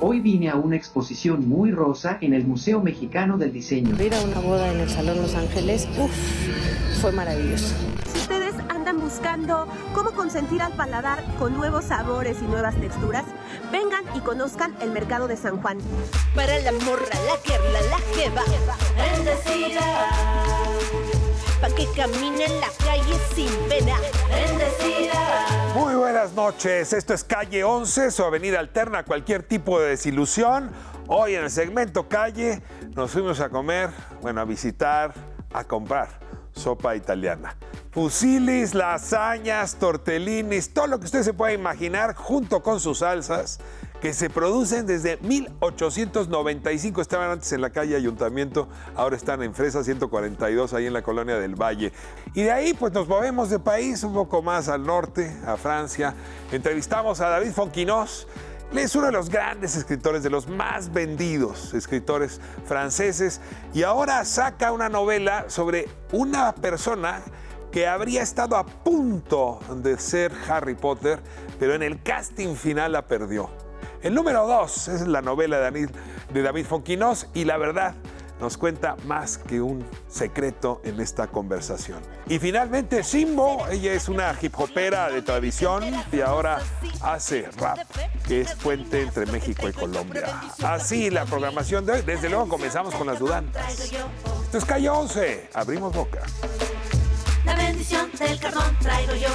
Hoy vine a una exposición muy rosa en el Museo Mexicano del Diseño. Ir a una boda en el Salón Los Ángeles, fue maravilloso. Si ustedes andan buscando cómo consentir al paladar con nuevos sabores y nuevas texturas, vengan y conozcan el Mercado de San Juan. Para la morra, la guerra, la jeva, bendecida. Pa' que camine en la calle sin pena, bendecida. Muy buenas noches, esto es Calle 11, su avenida alterna a cualquier tipo de desilusión. Hoy en el segmento Calle nos fuimos a comer, a visitar, a comprar sopa italiana. Fusilis, lasañas, tortellinis, todo lo que usted se pueda imaginar junto con sus salsas que se producen desde 1895. Estaban antes en la calle Ayuntamiento, ahora están en Fresa 142, ahí en la Colonia del Valle. Y de ahí pues nos movemos de país un poco más al norte, a Francia. Entrevistamos a David Fonquinós. Él es uno de los grandes escritores, de los más vendidos escritores franceses. Y ahora saca una novela sobre una persona que habría estado a punto de ser Harry Potter, pero en el casting final la perdió. El número 2 es la novela de David Fonquinós y la verdad nos cuenta más que un secreto en esta conversación. Y finalmente Simbo, ella es una hip hopera de tradición y ahora hace rap, que es puente entre México y Colombia. Así la programación de hoy. Desde luego comenzamos con las dudantas. Esto es Calle 11, abrimos boca. La bendición del carbón traigo yo.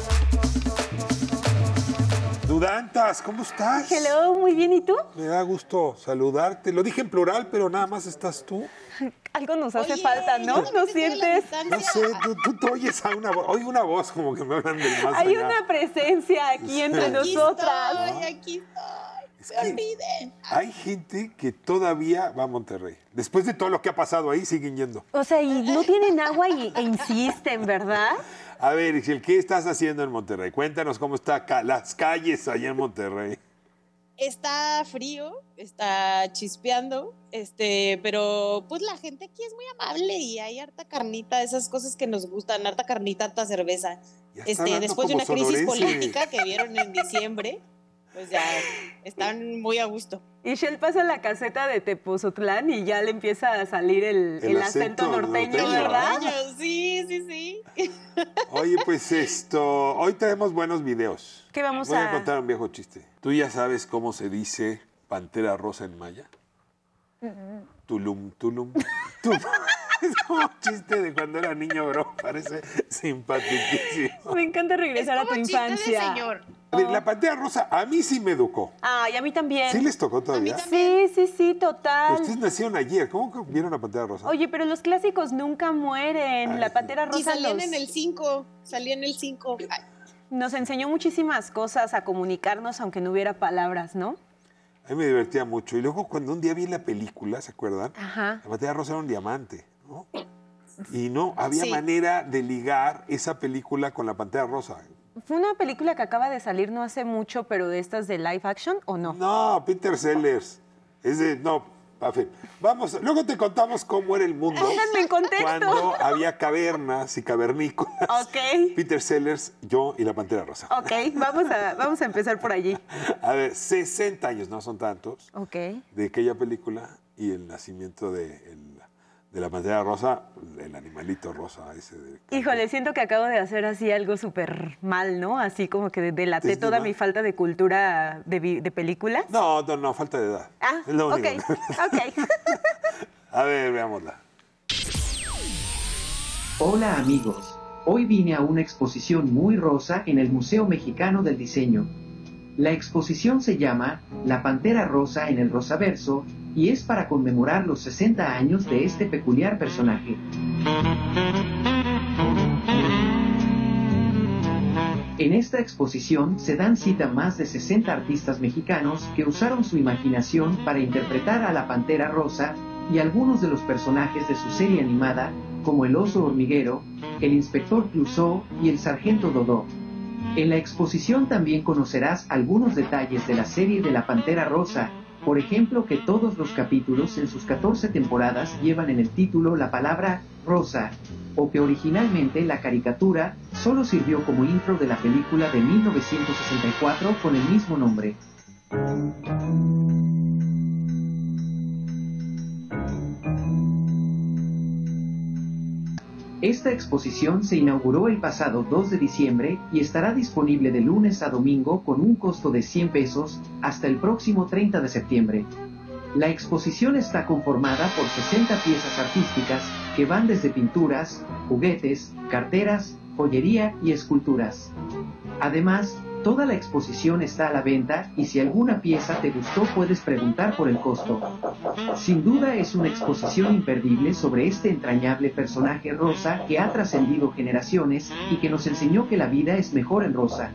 Dudantas, ¿cómo estás? Hello, muy bien, ¿y tú? Me da gusto saludarte. Lo dije en plural, pero nada más estás tú. Algo nos hace falta, ¿no? ¿No sientes? No sé, tú te oyes a una voz. Oigo una voz como que me hablan del más Hay allá. una presencia aquí entre nosotras. Aquí estoy. Es Se que olviden. hay gente que todavía va a Monterrey. Después de todo lo que ha pasado ahí, siguen yendo. O sea, y no tienen agua e insisten, ¿verdad? A ver, Ixchel, ¿qué estás haciendo en Monterrey? Cuéntanos cómo están las calles allá en Monterrey. Está frío, está chispeando, pero pues la gente aquí es muy amable y hay harta carnita, esas cosas que nos gustan, harta carnita, harta cerveza. Ya está hablando Después de como una crisis sonorense. política que vieron en diciembre, pues ya están muy a gusto. Y Shell pasa la caseta de Tepozotlán y ya le empieza a salir el acento norteño, ¿verdad? Sí. Oye, pues hoy tenemos buenos videos. ¿Qué vamos Voy a a...? contar un viejo chiste. ¿Tú ya sabes cómo se dice pantera rosa en maya? Tulum, tulum, tulum. Es como un chiste de cuando era niño, bro. Parece simpaticísimo. Me encanta regresar a tu infancia. Señor. A ver, la pantera rosa a mí sí me educó. Ay, a mí también. ¿Sí les tocó todavía? Sí, total. Ustedes nacieron ayer. ¿Cómo que vieron la pantera rosa? Oye, pero los clásicos nunca mueren. Ay, La sí. Pantera Y Rosa salían en el 5, salían en el 5. nos enseñó muchísimas cosas a comunicarnos, aunque no hubiera palabras, ¿no? A mí me divertía mucho. Y luego cuando un día vi la película, ¿se acuerdan? Ajá. La pantera rosa era un diamante, ¿no? Y no había Sí. manera de ligar esa película con la pantera rosa. Fue una película que acaba de salir no hace mucho, pero de estas de live action, ¿o no? No, Peter Sellers. Vamos, luego te contamos cómo era el mundo Pónganme en contexto. cuando había cavernas y cavernícolas. Ok. Peter Sellers, yo y la pantera rosa. Ok, vamos a empezar por allí. A ver, 60 años, no son tantos, Ok. de aquella película y el nacimiento de la pantera rosa, el animalito rosa ese. Híjole, siento que acabo de hacer así algo súper mal, ¿no? Así como que delaté ¿Desde toda mal? mi falta de cultura de películas. No, falta de edad. Ah, Es lo ok, único. ok. A ver, veámosla. Hola amigos, hoy vine a una exposición muy rosa en el Museo Mexicano del Diseño. La exposición se llama La Pantera Rosa en el Rosaverso y es para conmemorar los 60 años de este peculiar personaje. En esta exposición se dan cita más de 60 artistas mexicanos que usaron su imaginación para interpretar a la Pantera Rosa y algunos de los personajes de su serie animada, como el oso hormiguero, el inspector Clouseau y el sargento Dodó. En la exposición también conocerás algunos detalles de la serie de la Pantera Rosa, por ejemplo que todos los capítulos en sus 14 temporadas llevan en el título la palabra rosa, o que originalmente la caricatura solo sirvió como intro de la película de 1964 con el mismo nombre. Esta exposición se inauguró el pasado 2 de diciembre y estará disponible de lunes a domingo con un costo de 100 pesos hasta el próximo 30 de septiembre. La exposición está conformada por 60 piezas artísticas que van desde pinturas, juguetes, carteras, joyería y esculturas. Además, toda la exposición está a la venta y si alguna pieza te gustó puedes preguntar por el costo. Sin duda es una exposición imperdible sobre este entrañable personaje rosa que ha trascendido generaciones y que nos enseñó que la vida es mejor en rosa.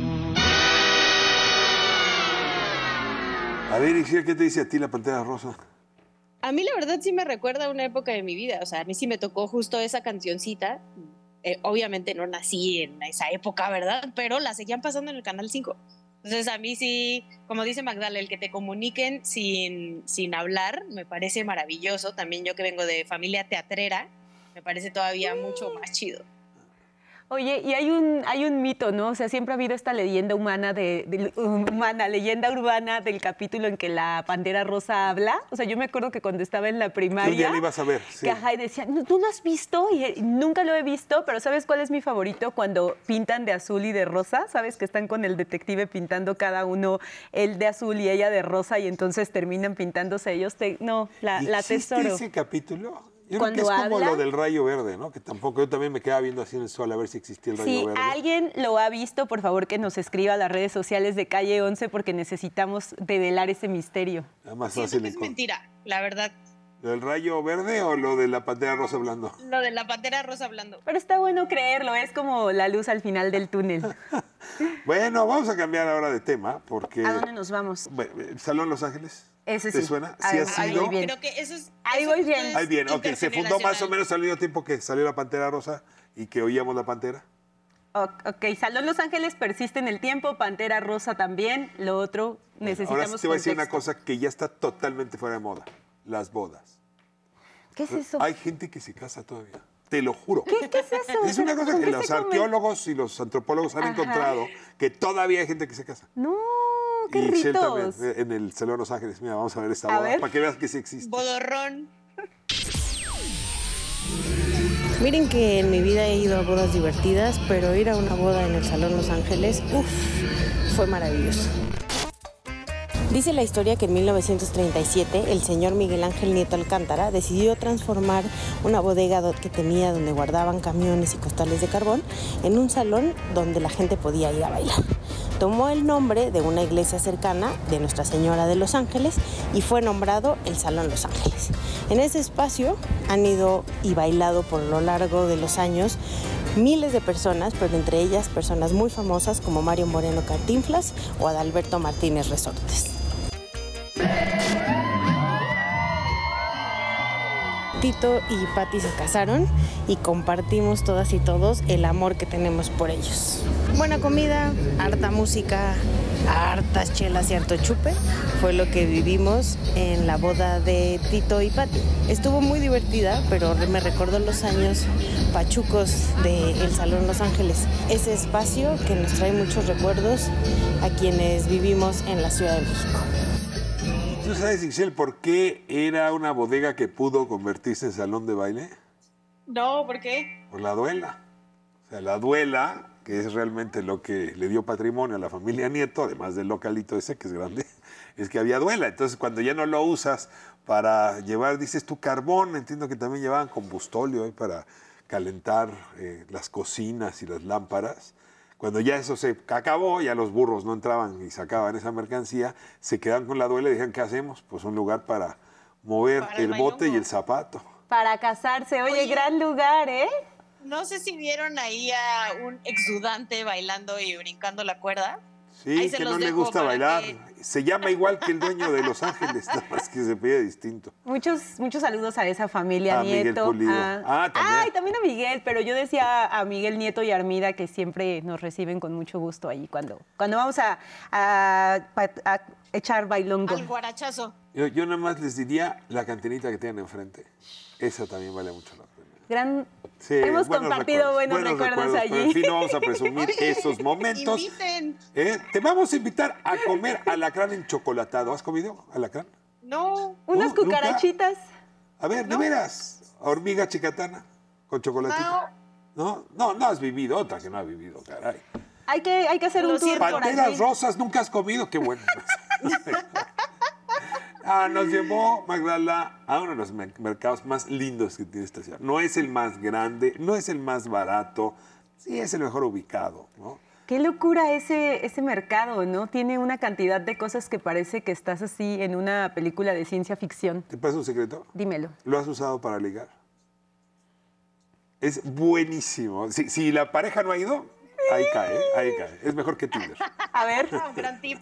A ver, Ixchel, ¿qué te dice a ti la Pantera Rosa? A mí la verdad sí me recuerda a una época de mi vida, o sea, a mí sí me tocó justo esa cancioncita. Obviamente no nací en esa época, ¿verdad? Pero la seguían pasando en el Canal 5. Entonces a mí sí, como dice Magdala, el que te comuniquen sin hablar me parece maravilloso. También yo que vengo de familia teatrera, me parece todavía mucho más chido. Oye, y hay un mito, ¿no? O sea, siempre ha habido esta leyenda leyenda urbana del capítulo en que la Pantera Rosa habla. O sea, yo me acuerdo que cuando estaba en la primaria... Un día lo ibas a ver, sí. Que ajá, y decía, ¿tú lo has visto? Y nunca lo he visto, pero ¿sabes cuál es mi favorito? Cuando pintan de azul y de rosa, ¿sabes? Que están con el detective pintando cada uno, él de azul y ella de rosa, y entonces terminan pintándose ellos. La tesoro. ¿Ese capítulo? Yo Cuando creo que es como habla, lo del rayo verde, ¿no? Que tampoco, yo también me quedaba viendo así en el sol a ver si existía el rayo verde. Si alguien lo ha visto, por favor que nos escriba a las redes sociales de Calle 11 porque necesitamos develar ese misterio. Además, Siento que es mentira, la verdad. ¿Lo del rayo verde o lo de la Pantera Rosa hablando? Lo de la Pantera Rosa hablando. Pero está bueno creerlo, es como la luz al final del túnel. Bueno, vamos a cambiar ahora de tema porque... ¿A dónde nos vamos? Bueno, ¿Salón Los Ángeles? Ese ¿Te sí. suena? Ahí ¿Sí ha sido? voy bien. Creo que eso es... Ahí eso voy justo bien. es Ahí bien, ok. Se fundó más o menos al mismo tiempo que salió la Pantera Rosa y que oíamos la Pantera. Ok, Salón Los Ángeles persiste en el tiempo, Pantera Rosa también, lo otro necesitamos Ahora sí te voy a decir una contexto. cosa que ya está totalmente fuera de moda. Las bodas. ¿Qué es eso? Hay gente que se casa todavía. Te lo juro. ¿Qué es eso? Es una cosa ¿Con que qué los se come? arqueólogos y los antropólogos han Ajá. encontrado, que todavía hay gente que se casa. No, qué Y Shell ritos. también, en el Salón Los Ángeles. Mira, vamos a ver esta A boda ver. para que veas que sí existe. Bodorrón. Miren que en mi vida he ido a bodas divertidas, pero ir a una boda en el Salón Los Ángeles, fue maravilloso. Dice la historia que en 1937 el señor Miguel Ángel Nieto Alcántara decidió transformar una bodega que tenía donde guardaban camiones y costales de carbón en un salón donde la gente podía ir a bailar. Tomó el nombre de una iglesia cercana de Nuestra Señora de Los Ángeles y fue nombrado el Salón Los Ángeles. En ese espacio han ido y bailado por lo largo de los años miles de personas, pero entre ellas personas muy famosas como Mario Moreno Cantinflas o Adalberto Martínez Resortes. Tito y Patti se casaron y compartimos todas y todos el amor que tenemos por ellos. Buena comida, harta música, hartas chelas y harto chupe fue lo que vivimos en la boda de Tito y Patti. Estuvo muy divertida, pero me recordó los años pachucos del Salón Los Ángeles. Ese espacio que nos trae muchos recuerdos a quienes vivimos en la Ciudad de México. ¿Tú sabes, Ixchel, por qué era una bodega que pudo convertirse en salón de baile? No, ¿por qué? Por la duela. O sea, la duela, que es realmente lo que le dio patrimonio a la familia Nieto, además del localito ese, que es grande, es que había duela. Entonces, cuando ya no lo usas para llevar, dices tu carbón, entiendo que también llevaban combustóleo para calentar las cocinas y las lámparas. Cuando ya eso se acabó, ya los burros no entraban y sacaban esa mercancía, se quedaban con la duela y dijeron, ¿qué hacemos? Pues un lugar para mover Para el el bote y bailongo. el zapato. Para casarse, oye, gran lugar, ¿eh? No sé si vieron ahí a un exudante bailando y brincando la cuerda. Sí, Ahí se que los no le dejo gusta para bailar. que- Se llama igual que el dueño de Los Ángeles, nada más que se pide distinto. Muchos saludos a esa familia A Miguel Nieto. Pulido. También. Ay, también a Miguel, pero yo decía a Miguel Nieto y Armida que siempre nos reciben con mucho gusto ahí cuando vamos a echar bailongo. Al guarachazo. Yo nada más les diría la cantinita que tienen enfrente. Esa también vale mucho la pena. Sí, Hemos compartido buenos recuerdos allí. Pero en fin, no vamos a presumir esos momentos. Inviten. Te vamos a invitar a comer alacrán enchocolatado. ¿Has comido alacrán? No. Unas ¿Nunca? cucarachitas. A ver, ¿de veras? Hormiga chicatana con chocolatito. ¿No? No has vivido otra que no has vivido, caray. Hay que hacer un tour por Panteras allí. rosas nunca has comido, qué bueno. Nos llevó Magdala a uno de los mercados más lindos que tiene esta ciudad. No es el más grande, no es el más barato, sí es el mejor ubicado, ¿no? Qué locura ese mercado, ¿no? Tiene una cantidad de cosas que parece que estás así en una película de ciencia ficción. ¿Te pasa un secreto? Dímelo. ¿Lo has usado para ligar? Es buenísimo. Si la pareja no ha ido, ahí cae. Es mejor que Tinder. A ver. Gran tip.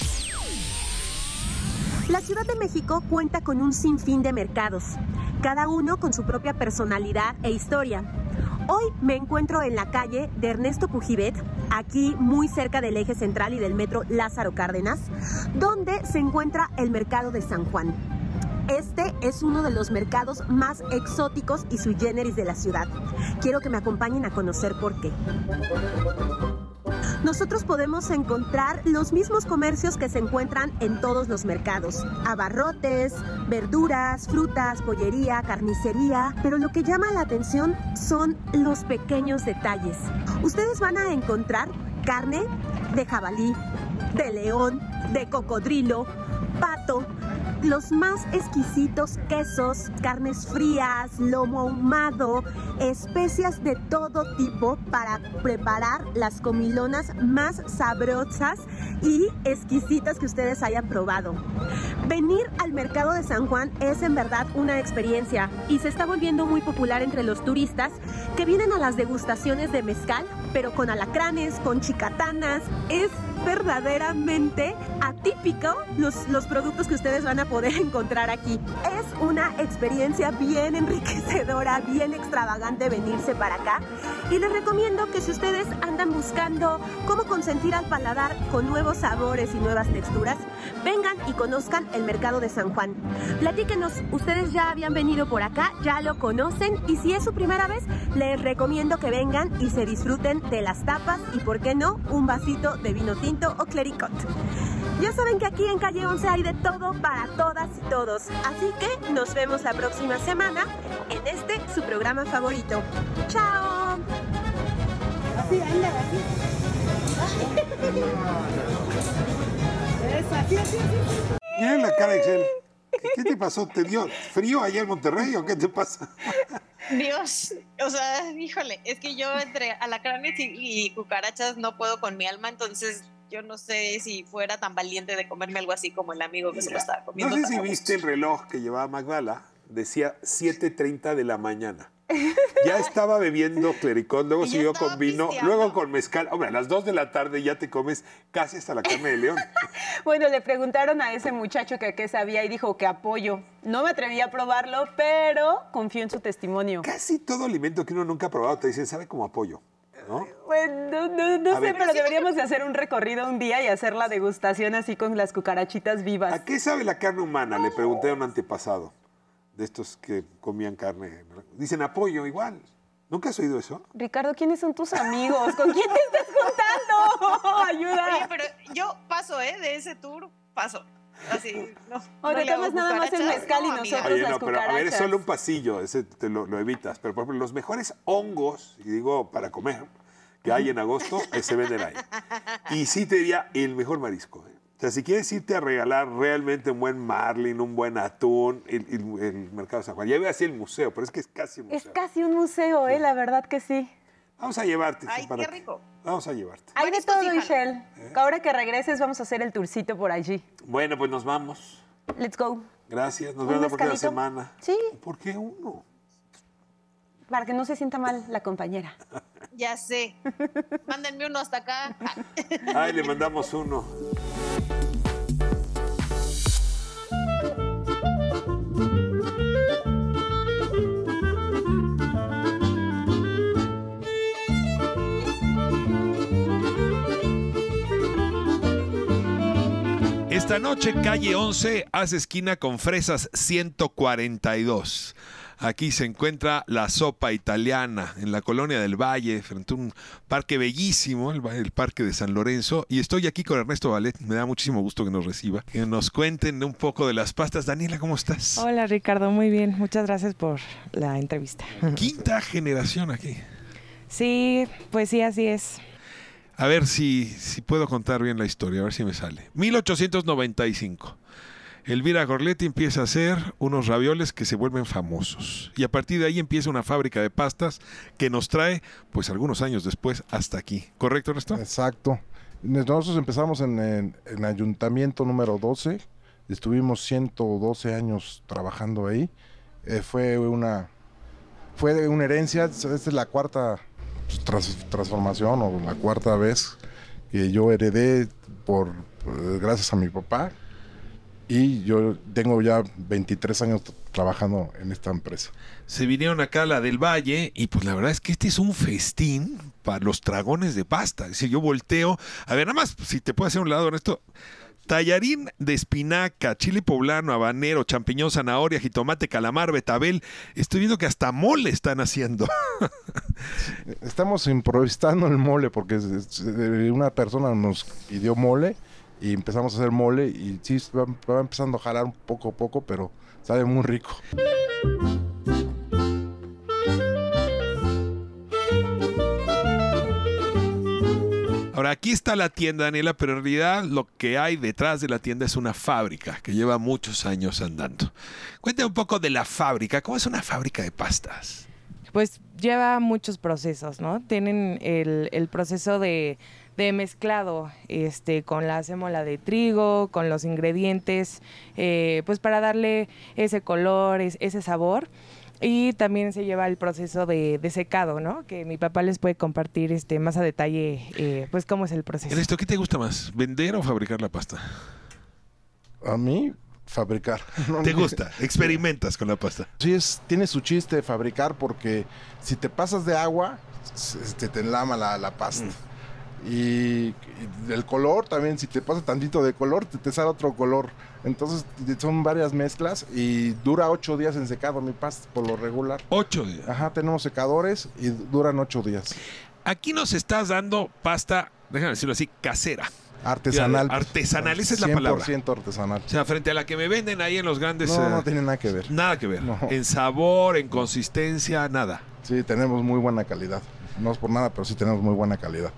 La Ciudad de México cuenta con un sinfín de mercados, cada uno con su propia personalidad e historia. Hoy me encuentro en la calle de Ernesto Pujibet, aquí muy cerca del eje central y del metro Lázaro Cárdenas, donde se encuentra el mercado de San Juan. Este es uno de los mercados más exóticos y sui generis de la ciudad. Quiero que me acompañen a conocer por qué. Nosotros podemos encontrar los mismos comercios que se encuentran en todos los mercados. Abarrotes, verduras, frutas, pollería, carnicería. Pero lo que llama la atención son los pequeños detalles. Ustedes van a encontrar carne de jabalí, de león, de cocodrilo, pato, los más exquisitos quesos, carnes frías, lomo ahumado, especias de todo tipo para preparar las comilonas más sabrosas y exquisitas que ustedes hayan probado. Venir al mercado de San Juan es en verdad una experiencia y se está volviendo muy popular entre los turistas que vienen a las degustaciones de mezcal, pero con alacranes, con chicatanas. Es verdaderamente atípico los productos que ustedes van a poder encontrar aquí. Es una experiencia bien enriquecedora, bien extravagante venirse para acá. Y les recomiendo que si ustedes andan buscando cómo consentir al paladar con nuevos sabores y nuevas texturas, vengan y conozcan el mercado de San Juan. Platíquenos, ¿ustedes ya habían venido por acá? ¿Ya lo conocen? Y si es su primera vez, les recomiendo que vengan y se disfruten de las tapas y, ¿por qué no?, un vasito de vino tinto o clericot. Ya saben que aquí en Calle 11 hay de todo para todas y todos. Así que nos vemos la próxima semana en su programa favorito. ¡Chao! Así, anda, así. Así. Mira la cara, Excel. ¿Qué te pasó? ¿Te dio frío allá en Monterrey o qué te pasa? Dios, o sea, híjole, es que yo entre alacranes y cucarachas no puedo con mi alma, entonces yo no sé si fuera tan valiente de comerme algo así como el amigo que se lo estaba comiendo. No sé si viste el reloj que llevaba Magdala, decía 7:30 de la mañana. Ya estaba bebiendo clericot, luego siguió con vino, pisteando. luego con mezcal. Hombre, a las 2 de la tarde ya te comes casi hasta la carne de león. Bueno, le preguntaron a ese muchacho que qué sabía y dijo que apoyo. No me atreví a probarlo, pero confío en su testimonio. Casi todo alimento que uno nunca ha probado te dicen, sabe como apoyo, ¿no? Bueno, no A sé, ver. pero deberíamos de hacer un recorrido un día y hacer la degustación así con las cucarachitas vivas. ¿A qué sabe la carne humana? Le pregunté a un antepasado de estos que comían carne. Dicen apoyo igual. ¿Nunca has oído eso? Ricardo, ¿quiénes son tus amigos? ¿Con quién te estás juntando? Ayuda. Oye, pero yo paso, de ese tour, paso. Así, no. O no te le hago tomas nada más el cucarachas, mezcal y no, amiga. nosotros Oye, las no, pero a ver, es cucarachas. solo un pasillo, ese te lo evitas. Pero, por ejemplo, los mejores hongos, y digo para comer, que hay en agosto, se venden ahí. Y sí te diría el mejor marisco. O sea, si quieres irte a regalar realmente un buen marlin, un buen atún, el mercado de San Juan. Ya iba así el museo, pero es que es casi un museo. Es casi un museo, la verdad que sí. Vamos a llevarte. Ay, para qué que- rico. Vamos a llevarte. Hay de Mariscos todo, y jalo. Michelle. Ahora que regreses vamos a hacer el tourcito por allí. Bueno, pues nos vamos. Let's go. Gracias. Nos ¿Un vemos la próxima mezcalito? semana. Sí. ¿Por qué uno? Para que no se sienta mal la compañera. Ya sé. Mándenme uno hasta acá. Ay, le mandamos uno. Esta noche, calle 11, hace esquina con Fresas 142. Aquí se encuentra la sopa italiana en la colonia del Valle, frente a un parque bellísimo, el Parque de San Lorenzo. Y estoy aquí con Ernesto Vallet. Me da muchísimo gusto que nos reciba, que nos cuenten un poco de las pastas. Daniela, ¿cómo estás? Hola Ricardo, muy bien. Muchas gracias por la entrevista. Quinta generación aquí. Sí, pues sí, así es. A ver si puedo contar bien la historia, a ver si me sale. 1895. Elvira Gorletti empieza a hacer unos ravioles que se vuelven famosos. Y a partir de ahí empieza una fábrica de pastas que nos trae, pues algunos años después, hasta aquí. ¿Correcto, Ernesto? Exacto. Nosotros empezamos en Ayuntamiento número 12. Estuvimos 112 años trabajando ahí. Fue una herencia. Esta es la cuarta transformación o la cuarta vez que yo heredé gracias a mi papá. Y yo tengo ya 23 años trabajando en esta empresa. Se vinieron acá a la del Valle y pues la verdad es que este es un festín para los dragones de pasta. Es decir, yo volteo, a ver, nada más, si te puedo hacer un lado, Ernesto. Tallarín de espinaca, chile poblano, habanero, champiñón, zanahoria, jitomate, calamar, betabel. Estoy viendo que hasta mole están haciendo. Estamos improvisando el mole porque una persona nos pidió mole. Y empezamos a hacer mole y sí, va empezando a jalar un poco a poco, pero sabe muy rico. Ahora, aquí está la tienda, Daniela, pero en realidad lo que hay detrás de la tienda es una fábrica que lleva muchos años andando. Cuéntame un poco de la fábrica. ¿Cómo es una fábrica de pastas? Pues lleva muchos procesos, ¿no? Tienen el proceso de mezclado con la sémola de trigo, con los ingredientes, pues para darle ese color, ese sabor. Y también se lleva el proceso de secado, ¿no? Que mi papá les puede compartir más a detalle, pues cómo es el proceso. Ernesto, ¿qué te gusta más, vender o fabricar la pasta? A mí, fabricar. ¿Te gusta? ¿Experimentas con la pasta? Sí, tiene su chiste fabricar porque si te pasas de agua, te enlama la pasta. Y el color también, si te pasa tantito de color, te sale otro color. Entonces son varias mezclas y dura 8 días en secado mi pasta por lo regular. 8 días. Ajá, tenemos secadores y duran 8 días. Aquí nos estás dando pasta, déjame decirlo así, casera. Artesanal. Artesanal, esa es la palabra. 100% artesanal. O sea, frente a la que me venden ahí en los grandes... No tiene nada que ver. Nada que ver. No. En sabor, en consistencia, nada. Sí, tenemos muy buena calidad. No es por nada, pero sí tenemos muy buena calidad.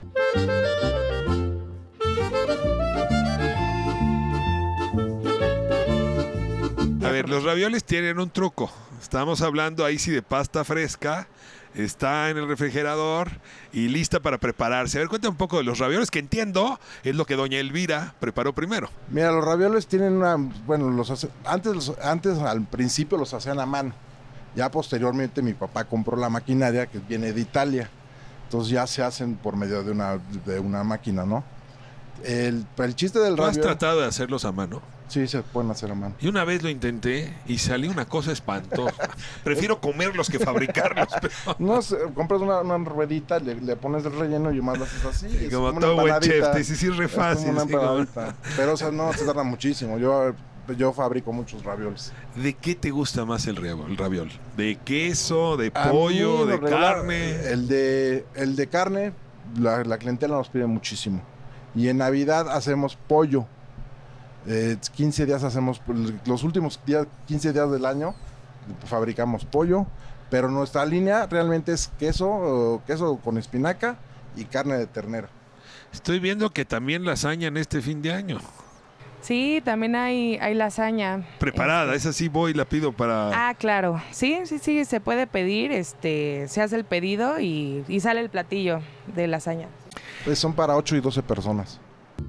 A ver, los ravioles tienen un truco. Estamos hablando ahí sí de pasta fresca. Está en el refrigerador y lista para prepararse. A ver, cuéntame un poco de los ravioles, que entiendo es lo que doña Elvira preparó primero. Mira, los ravioles tienen una... Bueno, antes al principio los hacían a mano. Ya posteriormente mi papá compró la maquinaria que viene de Italia. Entonces ya se hacen por medio de una máquina, ¿no? El chiste del raviol... ¿Tú has tratado de hacerlos a mano? Sí, se pueden hacer a mano. Y una vez lo intenté y salió una cosa espantosa. Prefiero comerlos que fabricarlos. Pero... No, compras una ruedita, le pones el relleno y más lo haces así. Sí, como todo buen chef, te dices, sí, es re fácil. Como una pero o sea, no, se tarda muchísimo. Yo fabrico muchos ravioles. ¿De qué te gusta más el raviol? ¿De queso, de pollo, de carne? El de carne, la clientela nos pide muchísimo. Y en Navidad hacemos pollo. 15 días hacemos, los últimos 15 días del año fabricamos pollo, pero nuestra línea realmente es queso con espinaca y carne de ternera. Estoy viendo que también lasaña en este fin de año. Sí, también hay lasaña. Preparada, esa sí voy y la pido para... Ah, claro. Sí, se puede pedir, se hace el pedido y sale el platillo de lasaña. Pues son para 8 y 12 personas.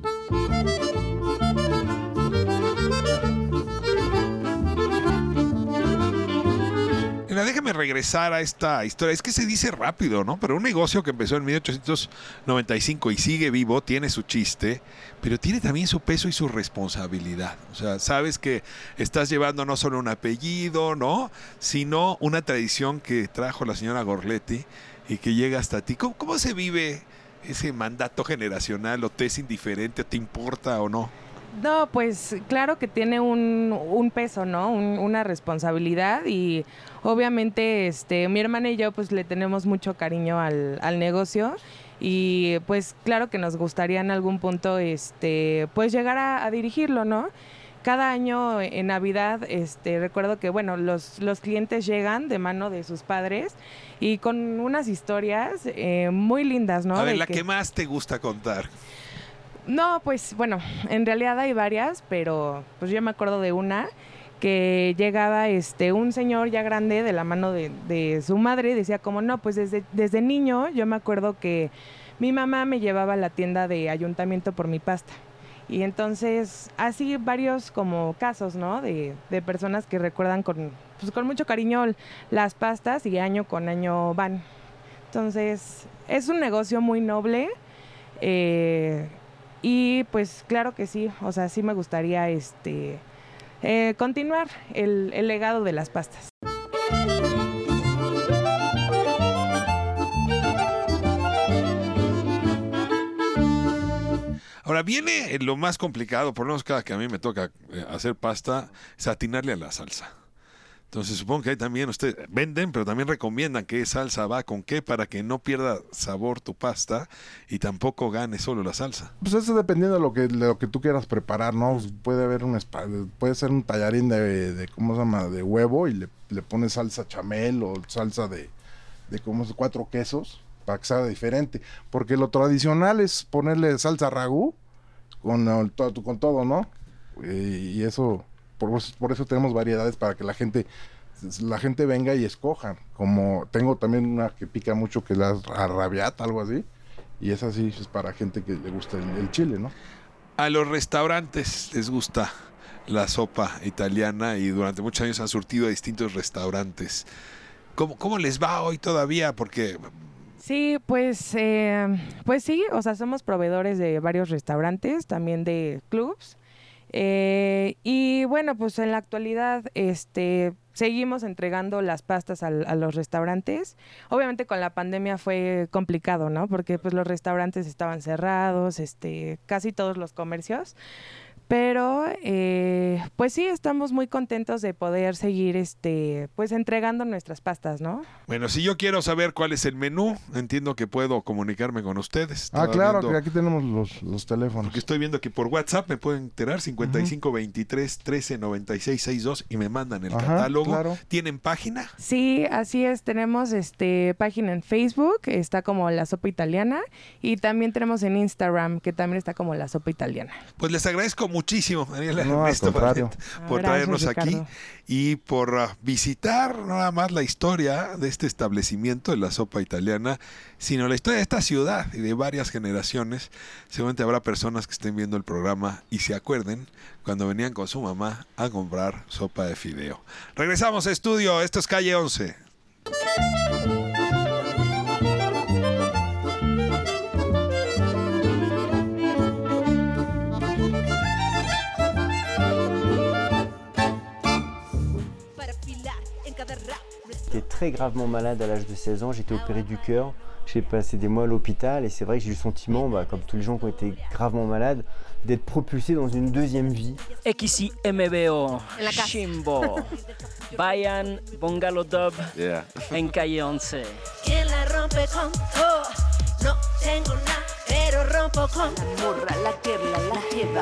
Déjame regresar a esta historia. Es que se dice rápido, ¿no? Pero un negocio que empezó en 1895 y sigue vivo, tiene su chiste, pero tiene también su peso y su responsabilidad. O sea, sabes que estás llevando no solo un apellido, ¿no? Sino una tradición que trajo la señora Gorletti y que llega hasta ti. ¿Cómo se vive ese mandato generacional? ¿O te es indiferente? ¿Te importa o no? No, pues claro que tiene un peso, ¿no? Una responsabilidad y obviamente mi hermana y yo pues le tenemos mucho cariño al negocio y pues claro que nos gustaría en algún punto pues llegar a dirigirlo, ¿no? Cada año en Navidad recuerdo que bueno, los clientes llegan de mano de sus padres y con unas historias muy lindas, ¿no? A ver, que más te gusta contar. No, pues bueno, en realidad hay varias, pero pues yo me acuerdo de una que llegaba un señor ya grande de la mano de su madre y decía como no, pues desde niño yo me acuerdo que mi mamá me llevaba a la tienda de ayuntamiento por mi pasta. Y entonces así varios como casos, ¿no? De personas que recuerdan con mucho cariño las pastas y año con año van. Entonces es un negocio muy noble. Y pues claro que sí, o sea, sí me gustaría continuar el legado de las pastas. Ahora viene lo más complicado, por lo menos cada que a mí me toca hacer pasta, es atinarle a la salsa. Entonces supongo que ahí también ustedes venden, pero también recomiendan qué salsa va con qué para que no pierda sabor tu pasta y tampoco gane solo la salsa. Pues eso dependiendo de lo que tú quieras preparar, ¿no? Puede haber puede ser un tallarín de ¿cómo se llama? De huevo y le pones salsa chamel o salsa de 4 quesos para que sea diferente. Porque lo tradicional es ponerle salsa ragú con todo, ¿no? Y eso... Por eso tenemos variedades para que la gente venga y escoja. Como tengo también una que pica mucho, que es la arrabiata, algo así. Y esa sí es para gente que le gusta el chile, ¿no? A los restaurantes les gusta la sopa italiana y durante muchos años han surtido a distintos restaurantes. ¿Cómo les va hoy todavía? Porque... Sí, pues sí, o sea, somos proveedores de varios restaurantes, también de clubs. Y bueno, pues en la actualidad seguimos entregando las pastas a los restaurantes. Obviamente con la pandemia fue complicado, ¿no? Porque pues los restaurantes estaban cerrados, casi todos los comercios. Pero pues sí, estamos muy contentos de poder seguir pues entregando nuestras pastas, ¿no? Bueno, si yo quiero saber cuál es el menú, entiendo que puedo comunicarme con ustedes. Claro, que aquí tenemos los teléfonos. Porque estoy viendo que por WhatsApp me pueden enterar 55 23 13 96 62 y me mandan el catálogo. Claro. ¿Tienen página? Sí, así es, tenemos página en Facebook, está como La Sopa Italiana, y también tenemos en Instagram, que también está como La Sopa Italiana. Pues les agradezco muchísimo, Daniela, Ernesto, por traernos aquí y por visitar no nada más la historia de este establecimiento de La Sopa Italiana, sino la historia de esta ciudad y de varias generaciones. Seguramente habrá personas que estén viendo el programa y se acuerden cuando venían con su mamá a comprar sopa de fideo. Regresamos a estudio, esto es Calle 11. J'étais très gravement malade à l'âge de 16 ans, j'étais opéré du cœur, j'ai passé des mois à l'hôpital et c'est vrai que j'ai eu le sentiment, comme tous les gens qui ont été gravement malades, d'être propulsé dans une deuxième vie. XMBO, Shimbo, Bayan, Bungalow Dub, en Calle 11. ¿Quién la rompe con todo? No tengo nada, pero rompo con la morra, la que la lleva.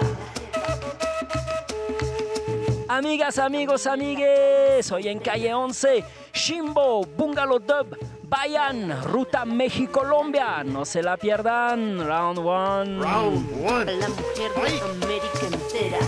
Amigas, amigos, amigues, hoy en Calle 11, Shimbo, Bungalow Dub, Bayan, Ruta México-Colombia, no se la pierdan, Round 1. Round 1. La mujer de América entera.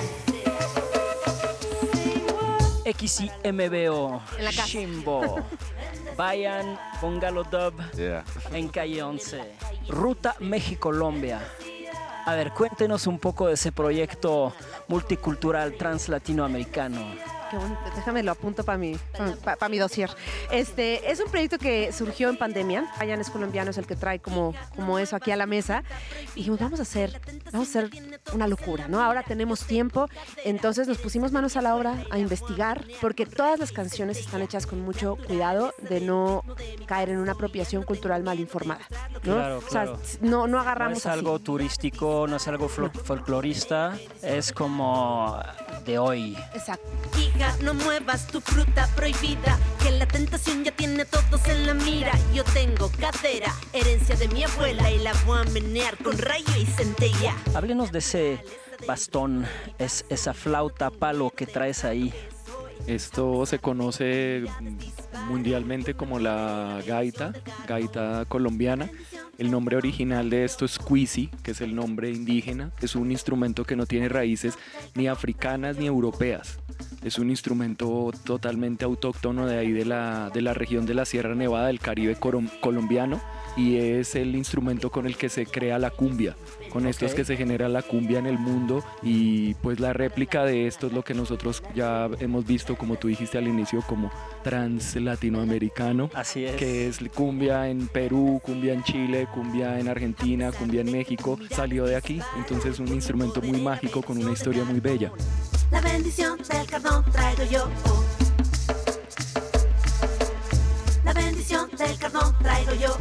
XMBO, Shimbo, Bayan, Bungalow Dub, en Calle 11, Ruta México-Colombia. A ver, cuéntenos un poco de ese proyecto multicultural translatinoamericano. Qué bonito, déjame lo apunto para mi dossier. Es un proyecto que surgió en pandemia. Bayan es colombiano, es el que trae como eso aquí a la mesa. Y dijimos, vamos a hacer una locura, ¿no? Ahora tenemos tiempo, entonces nos pusimos manos a la obra a investigar, porque todas las canciones están hechas con mucho cuidado de no caer en una apropiación cultural mal informada, ¿no? Claro, O claro. sea, no agarramos No es así. algo turístico, no es algo folclorista, es como de hoy. Exacto. Hija, no muevas tu fruta prohibida, que la tentación ya tiene a todos en la mira. Yo tengo cadera, herencia de mi abuela, y la voy a menear con rayo y centella. Háblenos de ese bastón, esa flauta palo que traes ahí. Esto se conoce mundialmente como la gaita colombiana. El nombre original de esto es cuisi, que es el nombre indígena. Es un instrumento que no tiene raíces ni africanas ni europeas. Es un instrumento totalmente autóctono de ahí de la región de la Sierra Nevada del Caribe colombiano, y es el instrumento con el que se crea la cumbia. Con esto es que se genera la cumbia en el mundo, y pues la réplica de esto es lo que nosotros ya hemos visto, como tú dijiste al inicio, como trans latinoamericano. Así es. Que es cumbia en Perú, cumbia en Chile, cumbia en Argentina, cumbia en México. Salió de aquí, entonces es un instrumento muy mágico con una historia muy bella. La bendición del cardón traigo yo. La bendición del cardón traigo yo.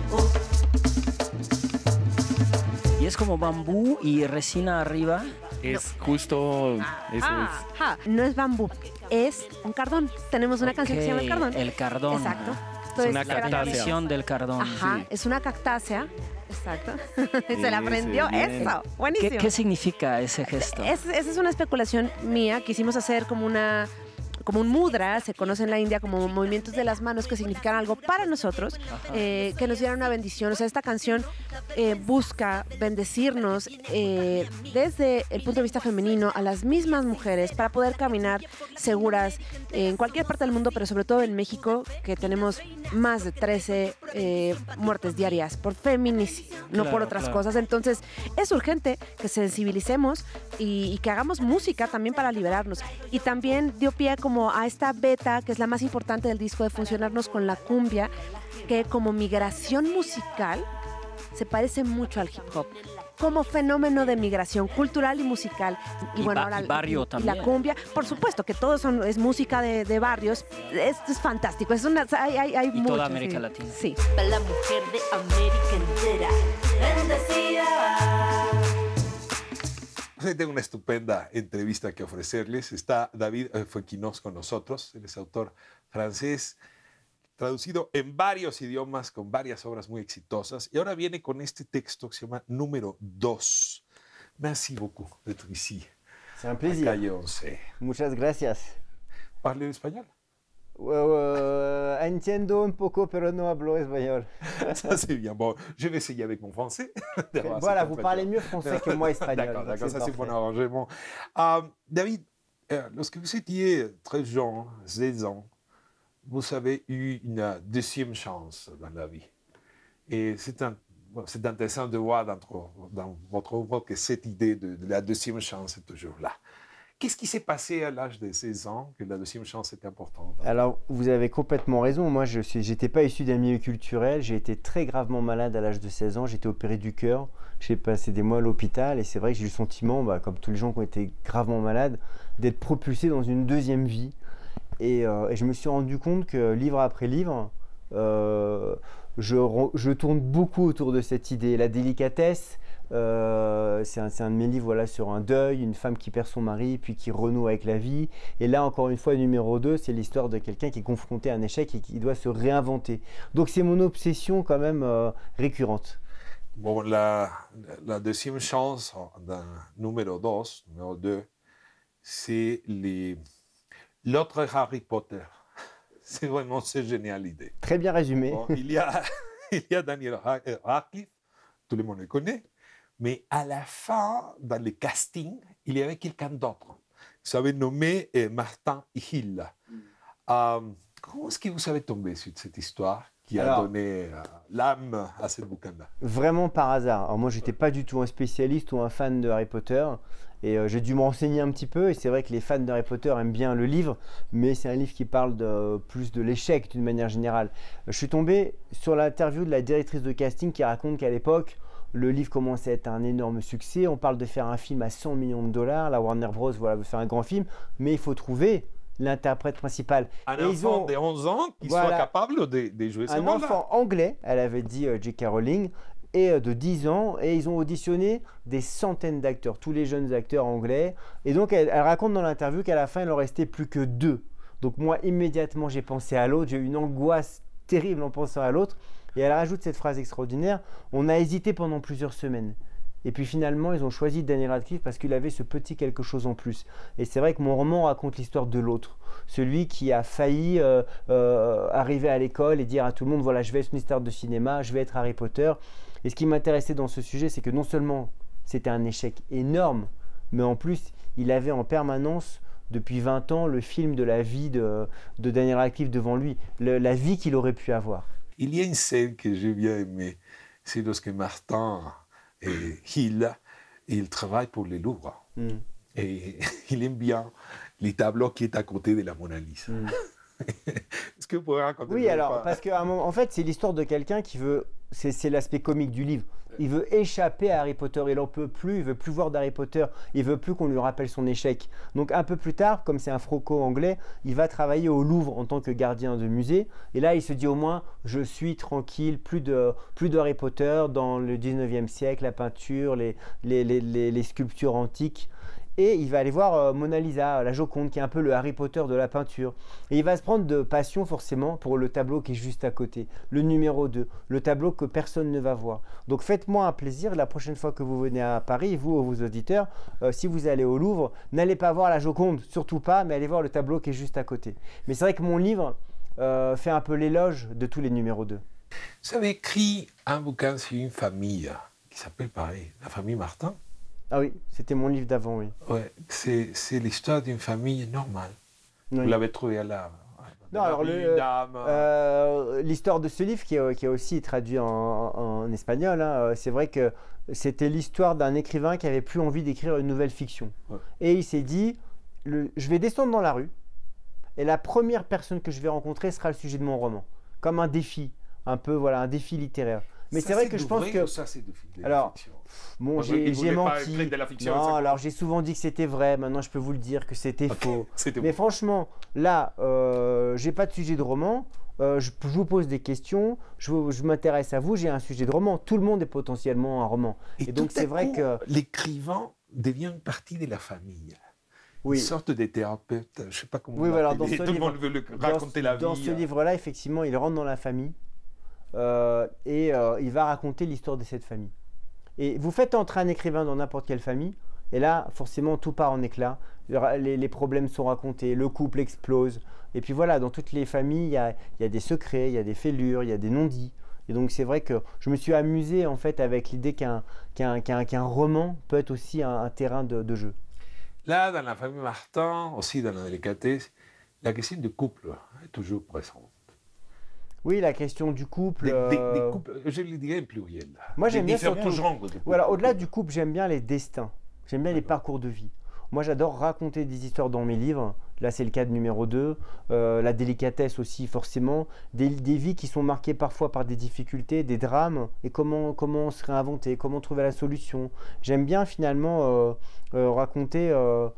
Y es como bambú y resina arriba. Es justo eso No es bambú, es un cardón. Tenemos una canción que se llama El Cardón. El cardón. Exacto. Es una La cactácea. bendición del cardón. Ajá, Sí. es una cactácea. Exacto. Se la aprendió. bien. Eso. Buenísimo. ¿Qué significa ese gesto? Esa es una especulación mía. Quisimos hacer como un mudra, se conoce en la India como movimientos de las manos que significan algo para nosotros, que nos dieran una bendición. O sea, esta canción busca bendecirnos desde el punto de vista femenino a las mismas mujeres para poder caminar seguras en cualquier parte del mundo, pero sobre todo en México, que tenemos más de 13 muertes diarias por feminicidio, no por Claro, otras claro. cosas. Entonces, es urgente que sensibilicemos y que hagamos música también para liberarnos. Y también dio pie como a esta beta, que es la más importante del disco, de funcionarnos con la cumbia, que como migración musical se parece mucho al hip hop. Como fenómeno de migración cultural y musical. Y barrio y también. la cumbia, por supuesto que todo es música de barrios. Esto es fantástico. Hay Y mucho, toda América sí. Latina. Sí. Para la mujer de América entera, bendecida. Hoy tengo una estupenda entrevista que ofrecerles. Está David Fouquinos con nosotros. Él es autor francés, traducido en varios idiomas, con varias obras muy exitosas. Y ahora viene con este texto que se llama Número 2. Merci beaucoup d'être ici. C'est un plaisir. Calle 11. Muchas gracias. ¿Parle español? Entiendo un poco, pero no hablo español. Ça, c'est bien. Bon, je vais essayer avec mon français. Voilà, vous parlez mieux français que moi espagnol. D'accord, donc d'accord, ça c'est parfait. mon arrangement. David, lorsque vous étiez très jeune, 16 ans, vous avez eu une deuxième chance dans la vie. Et c'est intéressant de voir dans votre œuvre que cette idée de la deuxième chance est toujours là. Qu'est-ce qui s'est passé à l'âge de 16 ans que la deuxième chance était importante? Alors, vous avez complètement raison. Moi, je n'étais pas issu d'un milieu culturel. J'ai été très gravement malade à l'âge de 16 ans. J'ai été opéré du cœur. J'ai passé des mois à l'hôpital. Et c'est vrai que j'ai eu le sentiment, comme tous les gens qui ont été gravement malades, d'être propulsé dans une deuxième vie. Et je me suis rendu compte que livre après livre, je tourne beaucoup autour de cette idée. La délicatesse, c'est un de mes livres, voilà, sur un deuil, une femme qui perd son mari puis qui renoue avec la vie. Et là, encore une fois, numéro 2, c'est l'histoire de quelqu'un qui est confronté à un échec et qui doit se réinventer. Donc c'est mon obsession quand même récurrente. Bon, la deuxième chance d'un numéro 2, c'est l'autre Harry Potter. C'est vraiment génial l'idée. Très bien résumé. Bon, il y a Daniel Radcliffe, tout le monde le connaît, mais à la fin, dans le casting, il y avait quelqu'un d'autre. Vous avez nommé Martin Hill. Comment est-ce que vous avez tombé sur cette histoire qui a donné l'âme à ce bouquin-là? Vraiment par hasard. Alors moi, je n'étais pas du tout un spécialiste ou un fan de Harry Potter. Et j'ai dû me renseigner un petit peu. Et c'est vrai que les fans de Harry Potter aiment bien le livre. Mais c'est un livre qui parle plus de l'échec d'une manière générale. Je suis tombé sur l'interview de la directrice de casting qui raconte qu'à l'époque, le livre commençait à être un énorme succès. On parle de faire un film à $100 millions. La Warner Bros. Voilà, veut faire un grand film. Mais il faut trouver l'interprète principal. Un enfant de 11 ans qui soit capable de jouer ce rôle-là. Un enfant anglais, elle avait dit J.K. Rowling, et de 10 ans, et ils ont auditionné des centaines d'acteurs, tous les jeunes acteurs anglais. Et donc, elle raconte dans l'interview qu'à la fin, il en restait plus que 2. Donc moi, immédiatement, j'ai pensé à l'autre. J'ai eu une angoisse terrible en pensant à l'autre. Et elle rajoute cette phrase extraordinaire. On a hésité pendant plusieurs semaines. Et puis finalement, ils ont choisi Daniel Radcliffe parce qu'il avait ce petit quelque chose en plus. Et c'est vrai que mon roman raconte l'histoire de l'autre. Celui qui a failli arriver à l'école et dire à tout le monde, voilà, je vais être une star de cinéma, je vais être Harry Potter. Et ce qui m'intéressait dans ce sujet, c'est que non seulement c'était un échec énorme, mais en plus, il avait en permanence, depuis 20 ans, le film de la vie de Daniel Radcliffe devant lui, la vie qu'il aurait pu avoir. Il y a une scène que j'ai bien aimée, c'est lorsque Martin et il travaille pour le Louvre. Et il aime bien les tableaux qui est à côté de la Mona Lisa. Est-ce que vous pourriez raconter? Oui, alors, parce qu'à un moment, en fait, c'est l'histoire de quelqu'un qui veut, c'est l'aspect comique du livre. Il veut échapper à Harry Potter, il n'en peut plus, il veut plus voir d'Harry Potter, il veut plus qu'on lui rappelle son échec. Donc un peu plus tard, comme c'est un franco-anglais, il va travailler au Louvre en tant que gardien de musée. Et là, il se dit au moins, je suis tranquille, plus de Harry Potter dans le 19e siècle, la peinture, les sculptures antiques. Et il va aller voir Mona Lisa, la Joconde, qui est un peu le Harry Potter de la peinture. Et il va se prendre de passion forcément pour le tableau qui est juste à côté, le numéro 2, le tableau que personne ne va voir. Donc faites-moi un plaisir, la prochaine fois que vous venez à Paris, vous, vos auditeurs, si vous allez au Louvre, n'allez pas voir la Joconde, surtout pas, mais allez voir le tableau qui est juste à côté. Mais c'est vrai que mon livre fait un peu l'éloge de tous les numéros 2. Vous avez écrit un bouquin sur une famille qui s'appelle pareil, la famille Martin. Ah oui, c'était mon livre d'avant, oui. Ouais, c'est l'histoire d'une famille normale. Oui. Vous l'avez trouvé à l'art. Non, alors l'histoire de ce livre qui est aussi traduit en espagnol, hein, c'est vrai que c'était l'histoire d'un écrivain qui avait plus envie d'écrire une nouvelle fiction. Ouais. Et il s'est dit, je vais descendre dans la rue et la première personne que je vais rencontrer sera le sujet de mon roman. Comme un défi, un peu, voilà, un défi littéraire. Mais c'est vrai que je pense que... Ça, c'est de la alors, fiction. Bon, j'ai menti. Non, alors j'ai souvent dit que c'était vrai. Maintenant, je peux vous le dire que c'était faux. Mais franchement, là, j'ai pas de sujet de roman. Je vous pose des questions. Je m'intéresse à vous. J'ai un sujet de roman. Tout le monde est potentiellement un roman. Et donc, c'est vrai que l'écrivain devient une partie de la famille. Oui. Une sorte de thérapeute. Je ne sais pas comment. Oui, alors tout le monde veut raconter la vie. Dans ce livre-là, effectivement, il rentre dans la famille. Il va raconter l'histoire de cette famille. Et vous faites entrer un écrivain dans n'importe quelle famille, et là, forcément, tout part en éclats. Les problèmes sont racontés, le couple explose. Et puis voilà, dans toutes les familles, il y a des secrets, il y a des fêlures, il y a des non-dits. Et donc, c'est vrai que je me suis amusé en fait avec l'idée qu'un roman peut être aussi un terrain de jeu. Là, dans la famille Martin, aussi dans la délicatesse, la question du couple est toujours présente. Oui, la question du couple. Des couples, je le dirais en pluriel. Moi, j'aime bien surtout. Voilà, au-delà du couple, j'aime bien les destins. J'aime bien les parcours de vie. Moi, j'adore raconter des histoires dans mes livres. Là, c'est le cas de numéro 2. La délicatesse aussi, forcément. Des vies qui sont marquées parfois par des difficultés, des drames. Et comment se réinventer, comment trouver la solution. J'aime bien finalement raconter,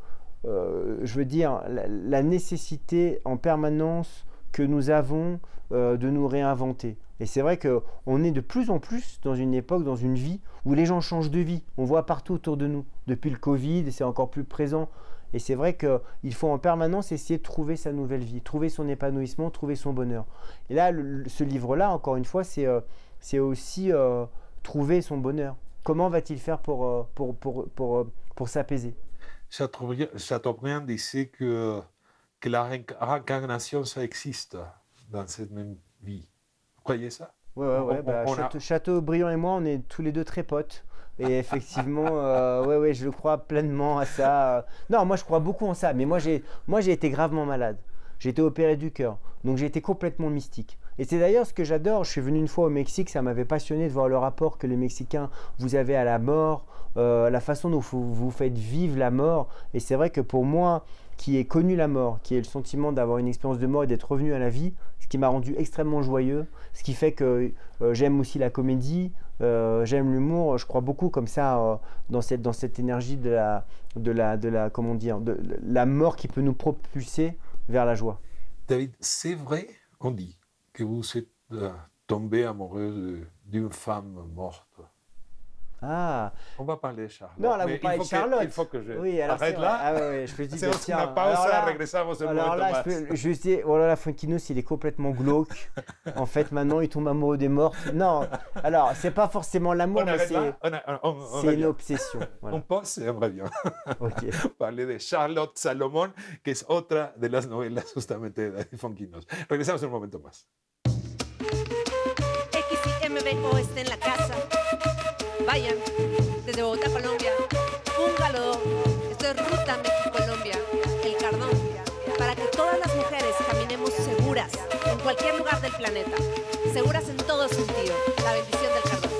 je veux dire, la nécessité en permanence que nous avons de nous réinventer. Et c'est vrai qu'on est de plus en plus dans une époque, dans une vie où les gens changent de vie. On voit partout autour de nous. Depuis le Covid, c'est encore plus présent. Et c'est vrai qu'il faut en permanence essayer de trouver sa nouvelle vie, trouver son épanouissement, trouver son bonheur. Et là, ce livre-là, encore une fois, c'est aussi trouver son bonheur. Comment va-t-il faire pour s'apaiser? Chateaubriand disait que la réincarnation, ça existe dans cette même vie. Vous croyez ça? Oui. Chateaubriand et moi, on est tous les deux très potes. Et effectivement, je crois pleinement à ça. Non, moi, je crois beaucoup en ça. Mais moi, j'ai été gravement malade. J'ai été opéré du cœur. Donc, j'ai été complètement mystique. Et c'est d'ailleurs ce que j'adore. Je suis venu une fois au Mexique. Ça m'avait passionné de voir le rapport que les Mexicains, vous avez à la mort, la façon dont vous faites vivre la mort. Et c'est vrai que pour moi, qui ai connu la mort, qui ai le sentiment d'avoir une expérience de mort et d'être revenu à la vie, ce qui m'a rendu extrêmement joyeux, ce qui fait que j'aime aussi la comédie, j'aime l'humour, je crois beaucoup comme ça dans cette énergie de la comment dire, de la mort qui peut nous propulser vers la joie. David, c'est vrai, on dit, que vous êtes tombé amoureux d'une femme morte. Ah. On va parler de Charlotte. Non, là, vous parlez de Charlotte. Il faut que je arrête là. Ah ouais, je peux dire, Hacemos una pausa, regresamos en un momento là, más. je peux juste dire, oh là là, Funkinos, il est complètement glauque. En fait, maintenant, il tombe amoureux des mortes. Non, alors, c'est pas forcément l'amour, mais c'est une obsession. Voilà. On pause et on revient. Ok. Parler de Charlotte Salomón, que es otra de las novelas justamente de David Funkinos. Regresamos en un momento más. XIMBO está en la casa. Vayan, desde Bogotá, Colombia, Bungalow, esto es Ruta México-Colombia, El Cardón, para que todas las mujeres caminemos seguras en cualquier lugar del planeta, seguras en todo sentido, la bendición del Cardón.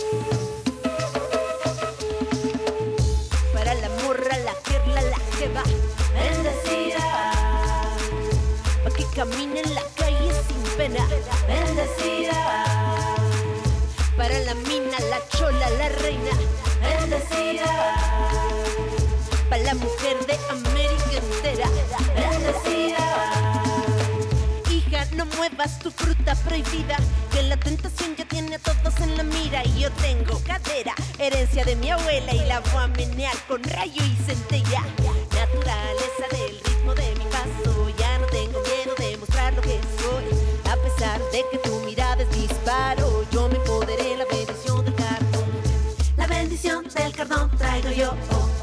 Para la morra, la gerla, la jeva, bendecida, para que camine en la calle sin pena, bendecida. Para la mina, la chola, la reina, bendecida. Para la mujer de América entera, bendecida. Hija, no muevas tu fruta prohibida, que la tentación ya tiene a todos en la mira. Y yo tengo cadera, herencia de mi abuela, y la voy a menear con rayo y centella. Naturaleza del ritmo de mi paso, ya no tengo miedo de mostrar lo que soy. A pesar de que tu mirada es disparo, yo me empoderé, la bendición del Cardón. La bendición del Cardón traigo yo.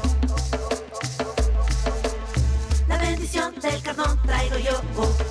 La bendición del Cardón traigo yo.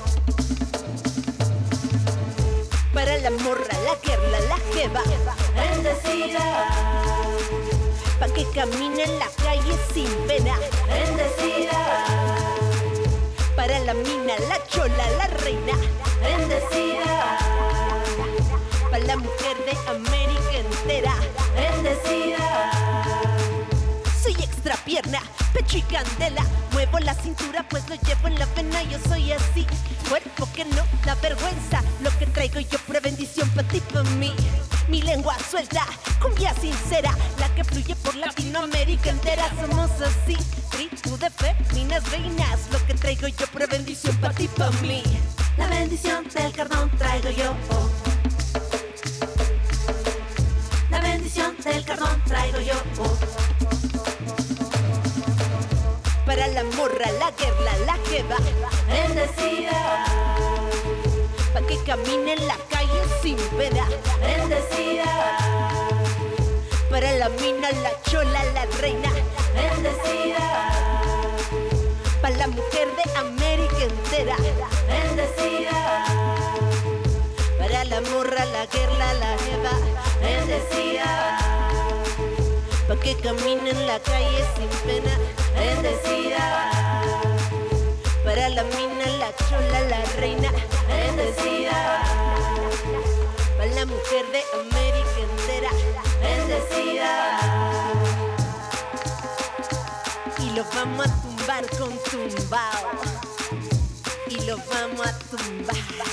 Para la morra, la gerla, la jeva, bendecida. Pa' que camine en la calle sin pena, bendecida. Para la mina, la chola, la reina, bendecida. Para la mujer de América entera, bendecida. Soy extra pierna, pecho y candela. Muevo la cintura pues lo llevo en la vena. Yo soy así, cuerpo que no da vergüenza. Lo que traigo yo, pura bendición pa' ti, pa' mí. Mi lengua suelta, cumbia sincera, la que fluye por Latinoamérica entera. Somos así, tribu de féminas reinas. Lo que traigo yo, pura bendición pa' ti, pa' mí. La bendición del Cardón traigo yo. La bendición del Cardón traigo yo. Para la morra, la gerla, la jeva, bendecida. Pa' que camine en la calle sin pena, bendecida. Para la mina, la chola, la reina, bendecida. Para la mujer de América entera, bendecida. Para la morra, la gerla, la jeva, bendecida. Pa' que camine en la calle sin pena, bendecida. Para la mina, la chola, la reina, bendecida. Para la mujer de América entera, bendecida. Y lo vamos a tumbar con tumbao. Y lo vamos a tumbar.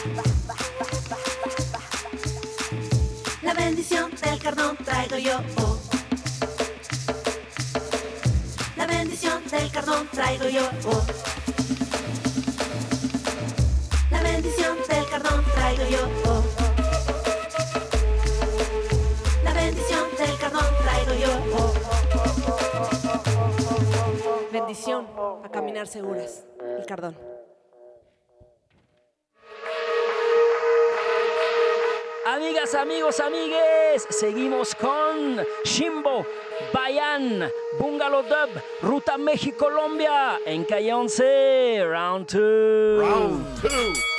La bendición del Cardón traigo yo. La bendición del Cardón traigo yo. La bendición del Cardón traigo yo. La bendición del Cardón traigo yo. Bendición a caminar seguras. El Cardón. Amigas, amigos, amigues, seguimos con Shimbo, Bayan, Bungalow Dub, Ruta México-Colombia, en Calle 11, Round 2. Round 2.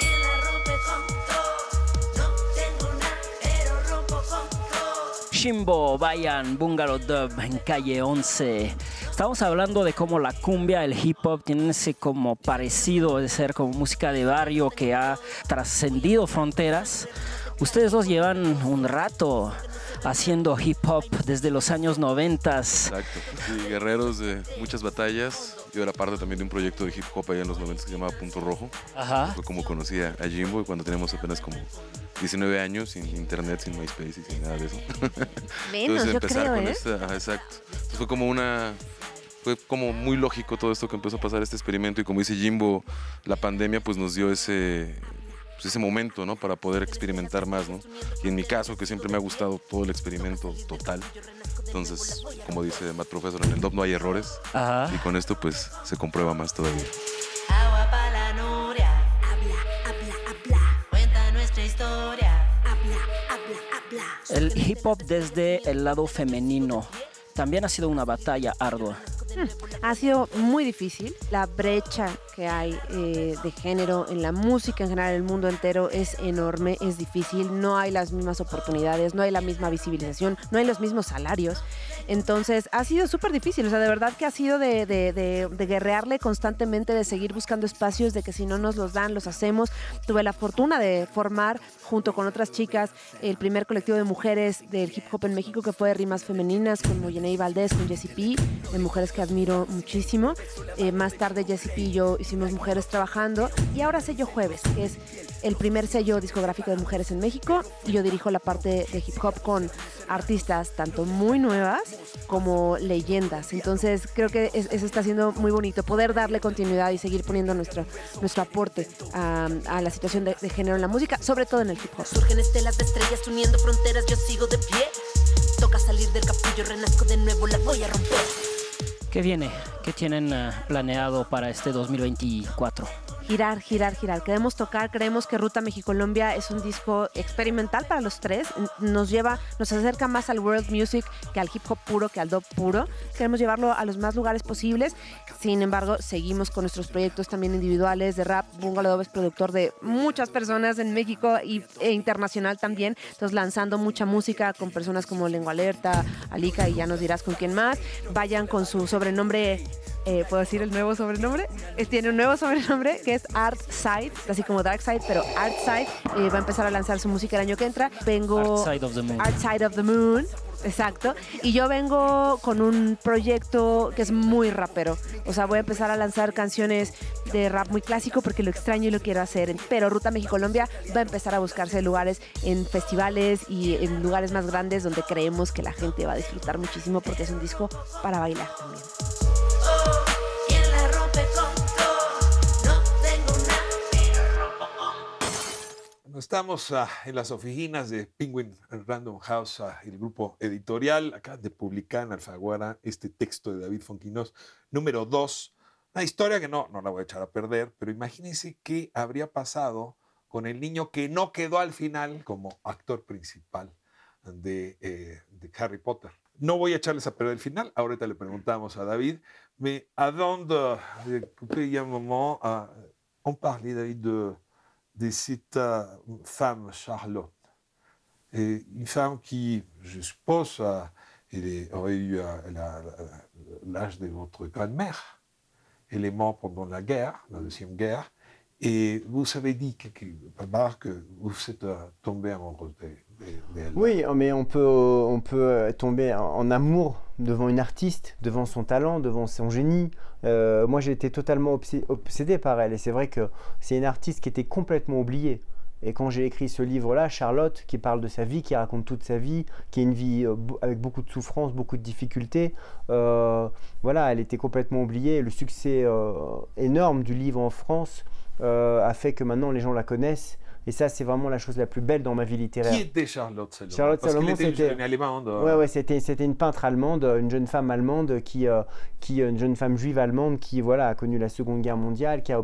Shimbo, Bayan, Bungalow Dub, en Calle 11. Estamos hablando de cómo la cumbia, el hip hop tienen ese como parecido de ser como música de barrio que ha trascendido fronteras. Ustedes dos llevan un rato haciendo hip hop desde los años 90. Exacto, sí, guerreros de muchas batallas. Yo era parte también de un proyecto de hip hop allá en los 90 que se llamaba Punto Rojo. Ajá. Fue como conocí a Jimbo y cuando teníamos apenas como 19 años, sin internet, sin MySpace y sin nada de eso. Menos, entonces yo empezar creo, con ¿eh? esta, exacto. Entonces fue como una fue como muy lógico todo esto que empezó a pasar, este experimento, y como dice Jimbo, la pandemia pues nos dio ese momento, ¿no? Para poder experimentar más, ¿no? Y en mi caso, que siempre me ha gustado todo el experimento total, entonces, como dice Matt Professor, en el DOP no hay errores. Ajá. Y con esto pues se comprueba más todavía. Agua pa' la Nuria, habla, cuenta nuestra historia, habla. El hip hop desde el lado femenino también ha sido una batalla ardua. Ha sido muy difícil. La brecha que hay de género en la música en general, en el mundo entero, es enorme, es difícil. No hay las mismas oportunidades, no hay la misma visibilización, no hay los mismos salarios. Entonces ha sido súper difícil. O sea, de verdad que ha sido de guerrearle constantemente, de seguir buscando espacios, de que si no nos los dan, los hacemos. Tuve la fortuna de formar, junto con otras chicas, el primer colectivo de mujeres del hip hop en México, que fue de rimas femeninas, con Moyenei Valdés, con Jessie P, de mujeres que admiro muchísimo. Más tarde Jessie P y yo hicimos Mujeres Trabajando, y ahora Sello Jueves, que es el primer sello discográfico de mujeres en México, y yo dirijo la parte de hip hop con artistas tanto muy nuevas como leyendas. Entonces creo que eso está siendo muy bonito, poder darle continuidad y seguir poniendo nuestro aporte a la situación de género en la música, sobre todo en el hip hop. Surgen estelas de estrellas uniendo fronteras, yo sigo de pie. Toca salir del capullo, renazco de nuevo, la voy a romper. ¿Qué viene? ¿Qué tienen planeado para este 2024? Girar. Queremos tocar, creemos que Ruta Mexicolombia es un disco experimental para los tres. Nos acerca más al world music que al hip hop puro, que al dub puro. Queremos llevarlo a los más lugares posibles. Sin embargo, seguimos con nuestros proyectos también individuales de rap. Bungalow Dub es productor de muchas personas en México e internacional también. Entonces, lanzando mucha música con personas como Lengua Alerta, Alika, y ya nos dirás con quién más. Vayan con su sobrenombre. ¿Puedo decir el nuevo sobrenombre? Tiene un nuevo sobrenombre que es Artside, así como Darkside, pero Artside. Va a empezar a lanzar su música el año que entra. Artside of the Moon. Artside of the Moon, exacto. Y yo vengo con un proyecto que es muy rapero. O sea, voy a empezar a lanzar canciones de rap muy clásico porque lo extraño y lo quiero hacer. Pero Ruta Mexicolombia va a empezar a buscarse lugares en festivales y en lugares más grandes donde creemos que la gente va a disfrutar muchísimo, porque es un disco para bailar también. Estamos en las oficinas de Penguin Random House, el grupo editorial. Acá de publicar en Alfaguara este texto de David Fonquinós, número 2. Una historia que no la voy a echar a perder, pero imagínense qué habría pasado con el niño que no quedó al final como actor principal de Harry Potter. No voy a echarles a perder el final, ahorita le preguntamos a David, mais avant de couper, il y a un moment, on parlait, David, de cette femme, Charlotte. Une femme qui, je suppose, aurait eu l'âge de votre grand-mère. Elle est morte pendant la guerre, la Deuxième Guerre. Et vous avez dit que vous êtes tombé amoureux d'elle. Oui, mais on peut tomber en amour devant une artiste, devant son talent, devant son génie. Moi, j'ai été totalement obsédé par elle. Et c'est vrai que c'est une artiste qui était complètement oubliée. Et quand j'ai écrit ce livre-là, Charlotte, qui parle de sa vie, qui raconte toute sa vie, qui est une vie avec beaucoup de souffrances, beaucoup de difficultés, voilà, elle était complètement oubliée. Le succès énorme du livre en France a fait que maintenant les gens la connaissent. Et ça, c'est vraiment la chose la plus belle dans ma vie littéraire. Qui était Charlotte Salomon? Charlotte Salomon, c'était une peintre allemande, une jeune femme allemande une jeune femme juive allemande qui a connu la Seconde Guerre mondiale, qui a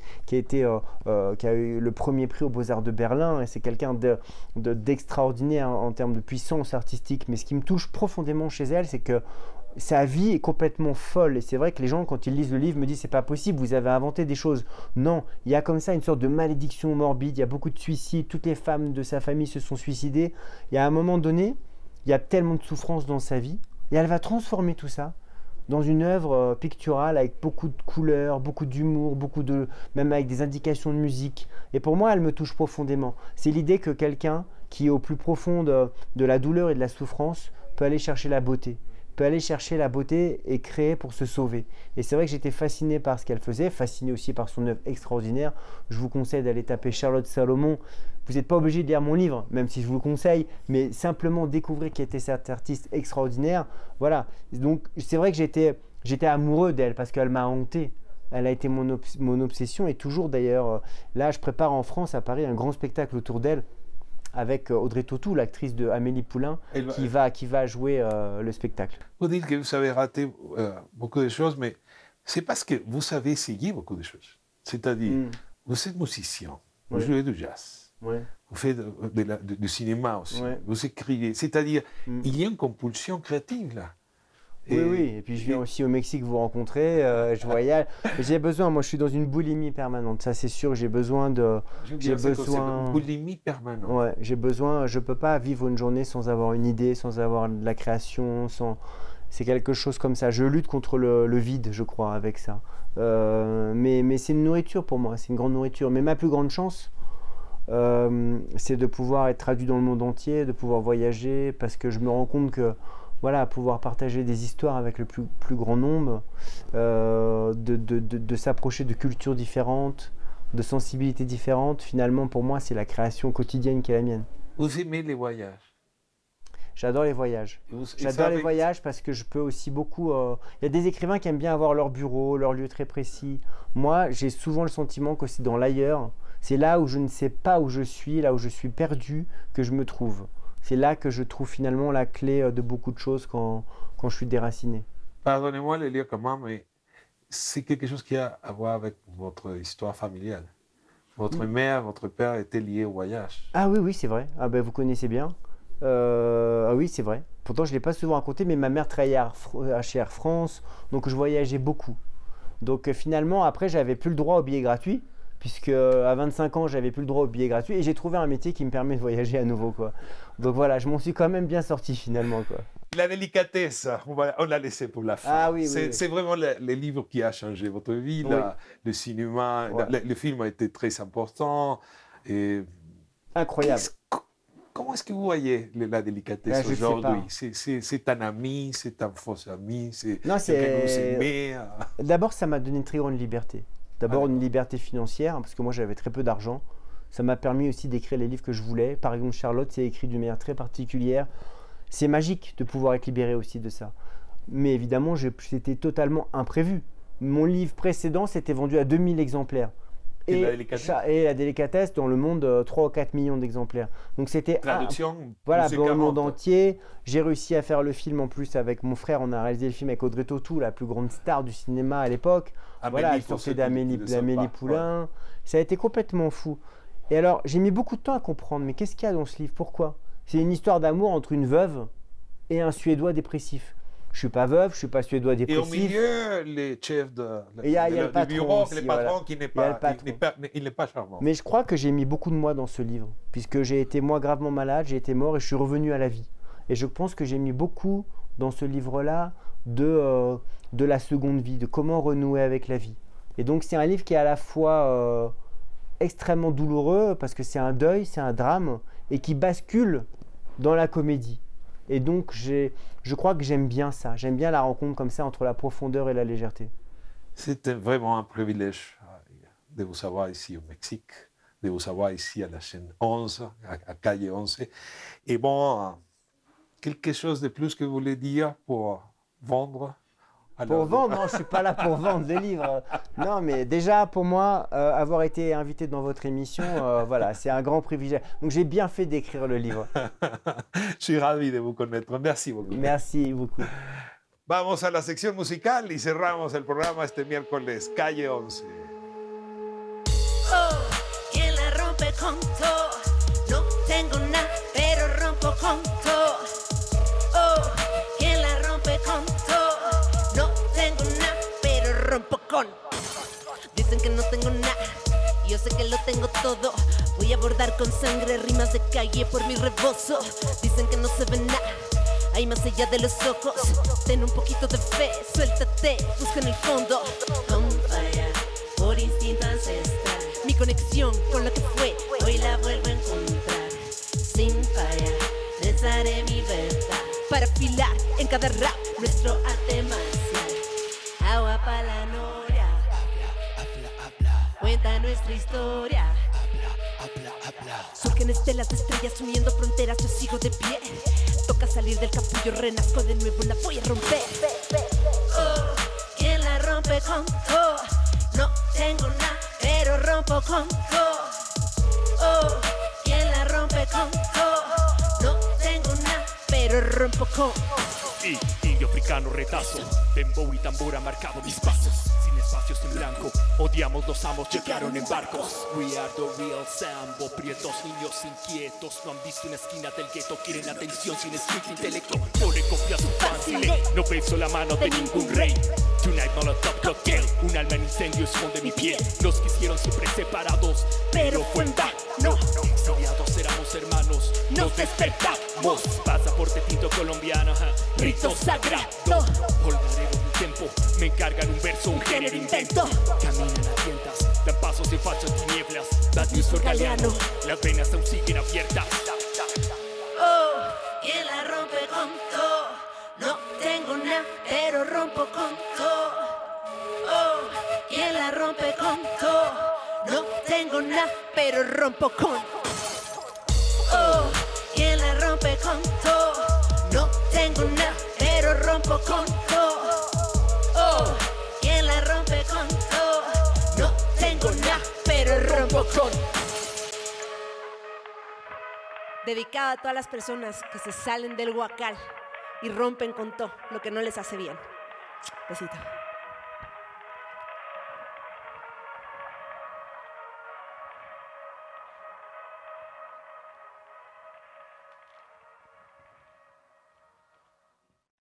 eu le premier prix aux Beaux-Arts de Berlin. Et c'est quelqu'un d'extraordinaire en termes de puissance artistique. Mais ce qui me touche profondément chez elle, c'est que sa vie est complètement folle, et c'est vrai que les gens, quand ils lisent le livre, me disent c'est pas possible, vous avez inventé des choses. Non, il y a comme ça une sorte de malédiction morbide, il y a beaucoup de suicides, toutes les femmes de sa famille se sont suicidées. Et à un moment donné, il y a tellement de souffrance dans sa vie, et elle va transformer tout ça dans une œuvre picturale avec beaucoup de couleurs, beaucoup d'humour, même avec des indications de musique. Et pour moi, elle me touche profondément. C'est l'idée que quelqu'un qui est au plus profond de la douleur et de la souffrance peut aller chercher la beauté. Peut aller chercher la beauté et créer pour se sauver. Et c'est vrai que j'étais fasciné par ce qu'elle faisait, fasciné aussi par son œuvre extraordinaire. Je vous conseille d'aller taper Charlotte Salomon. Vous n'êtes pas obligé de lire mon livre, même si je vous le conseille, mais simplement découvrir qui était cet artiste extraordinaire. Voilà. Donc c'est vrai que j'ai été j'étais amoureux d'elle parce qu'elle m'a hanté. Elle a été mon obsession et toujours d'ailleurs. Là, je prépare en France, à Paris, un grand spectacle autour d'elle avec Audrey Tautou, l'actrice de Amélie Poulain, qui va jouer le spectacle. Vous dites que vous avez raté beaucoup de choses, mais c'est parce que vous savez essayer beaucoup de choses. C'est-à-dire, vous êtes musicien, vous jouez du jazz, vous faites du cinéma aussi, vous écrivez. C'est-à-dire, il y a une compulsion créative là. Oui, et puis je viens aussi au Mexique vous rencontrer, je voyage. J'ai besoin, moi je suis dans une boulimie permanente, ça c'est sûr, j'ai besoin de... J'ai besoin... Une boulimie permanente. Ouais, j'ai besoin, je peux pas vivre une journée sans avoir une idée, sans avoir de la création, sans... C'est quelque chose comme ça, je lutte contre le vide, je crois, avec ça. Mais c'est une nourriture pour moi, c'est une grande nourriture. Mais ma plus grande chance, c'est de pouvoir être traduit dans le monde entier, de pouvoir voyager, parce que je me rends compte que voilà, pouvoir partager des histoires avec le plus grand nombre, de s'approcher de cultures différentes, de sensibilités différentes, finalement pour moi c'est la création quotidienne qui est la mienne. Vous aimez les voyages? J'adore les voyages. J'adore les voyages parce que je peux aussi beaucoup... Il y a des écrivains qui aiment bien avoir leur bureau, leur lieu très précis. Moi, j'ai souvent le sentiment que c'est dans l'ailleurs, c'est là où je ne sais pas où je suis, là où je suis perdu, que je me trouve. C'est là que je trouve finalement la clé de beaucoup de choses quand je suis déraciné. Pardonnez-moi de le lire comment, mais c'est quelque chose qui a à voir avec votre histoire familiale. Votre mère, votre père étaient liés au voyage. Ah oui, c'est vrai. Ah ben vous connaissez bien. Ah oui, c'est vrai. Pourtant, je ne l'ai pas souvent raconté, mais ma mère travaillait chez Air France, donc je voyageais beaucoup. Donc finalement, après, j'avais plus le droit au billet gratuit, puisque à 25 ans, j'avais plus le droit au billet gratuit, et j'ai trouvé un métier qui me permet de voyager à nouveau, quoi. Donc voilà, je m'en suis quand même bien sorti finalement, quoi. La délicatesse, on l'a laissé pour la fin. Ah oui, c'est vraiment le livre qui a changé votre vie, le cinéma, le film a été très important. Et... Incroyable. Comment est-ce que vous voyez la délicatesse aujourd'hui? C'est un ami, c'est un faux ami, c'est quelqu'un que vous aimez? D'abord, ça m'a donné une très grande liberté. D'abord, une liberté financière, parce que moi, j'avais très peu d'argent. Ça m'a permis aussi d'écrire les livres que je voulais. Par exemple, Charlotte, c'est écrit d'une manière très particulière. C'est magique de pouvoir être libéré aussi de ça. Mais évidemment, c'était totalement imprévu. Mon livre précédent s'était vendu à 2000 exemplaires. Et la délicatesse dans le monde, 3 ou 4 millions d'exemplaires. Donc c'était traduction voilà, dans le monde entier. J'ai réussi à faire le film en plus avec mon frère. On a réalisé le film avec Audrey Tautou, la plus grande star du cinéma à l'époque. Voilà, elle sortait d'Amélie Poulain. Ça a été complètement fou. Et alors, j'ai mis beaucoup de temps à comprendre, mais qu'est-ce qu'il y a dans ce livre? Pourquoi? C'est une histoire d'amour entre une veuve et un Suédois dépressif. Je ne suis pas veuve, je ne suis pas Suédois dépressif. Et au milieu, les chefs du bureau, le patron qui n'est pas charmant. Mais je crois que j'ai mis beaucoup de moi dans ce livre, puisque j'ai été moi gravement malade, j'ai été mort et je suis revenu à la vie. Et je pense que j'ai mis beaucoup dans ce livre-là de la seconde vie, de comment renouer avec la vie. Et donc c'est un livre qui est à la fois extrêmement douloureux, parce que c'est un deuil, c'est un drame, et qui bascule dans la comédie. Et donc, je crois que j'aime bien ça. J'aime bien la rencontre comme ça entre la profondeur et la légèreté. C'était vraiment un privilège de vous avoir ici au Mexique, de vous avoir ici à la chaîne 11, à Calle 11. Et bon, quelque chose de plus que vous voulez dire pour vendre? Pour vendre, non, je ne suis pas là pour vendre des livres. Non, mais déjà, pour moi, avoir été invité dans votre émission, voilà, c'est un grand privilège. Donc, j'ai bien fait d'écrire le livre. Je suis ravi de vous connaître. Merci beaucoup. Merci beaucoup. Vamos a la sección musical y cerramos el programa este miércoles, Calle 11. Oh, ¿quién la rompe con todo? No tengo nada, pero rompo con todo. Oh, ¿quién la rompe con todo? No tengo nada, pero rompo con. Dicen que no tengo nada, yo sé que lo tengo todo. Voy a bordar con sangre rimas de calle por mi rebozo. Dicen que no se ve nada, hay más allá de los ojos. Ten un poquito de fe, suéltate, busca en el fondo. On fire, por instinto ancestral. Mi conexión con lo que fue, hoy la vuelvo a encontrar. Sin falla, pensaré mi verdad. Para afilar en cada rap nuestro arte marcial. Agua pa' la noria, cuenta nuestra historia. Surgen estelas de estrellas uniendo fronteras, yo sigo de pie. Toca salir del capullo, renazco de nuevo, la voy a romper. Oh, con todo. No tengo nada, pero rompo con todo. Oh, ¿quién la rompe con todo? No tengo nada, pero rompo con Indio africano retazo, dembow y tambora marcado mis pasos. Sin espacios en blanco, odiamos los amos, llegaron en barcos. We are the real Sambo, prietos niños inquietos. No han visto una esquina del gueto, quieren atención sin street intelecto. No le copias un fácil, no beso la mano de ningún rey. Tonight Molotov cocktail, un alma en incendio esconde mi piel. Los quisieron siempre separados, pero fue en vano. Exiliados éramos hermanos, nos despertamos. Pasaporte tinto colombiano, rito sagrado. Olvarero del tiempo, me encargan un verso, un género invento. Caminan a tientas, dan pasos en fachas tinieblas. Bad news for Galeano, las venas aún siguen abiertas. Oh, ¿quién la rompe con todo? No tengo nada, pero rompo con todo. Oh, ¿quién la rompe con todo? No tengo nada, pero rompo con. Oh, ¿quién la rompe con todo? No tengo nada, pero rompo con todo. Oh, ¿quién la rompe con todo? No tengo nada, pero rompo con. Dedicada a todas las personas que se salen del huacal y rompen con todo lo que no les hace bien. Besito.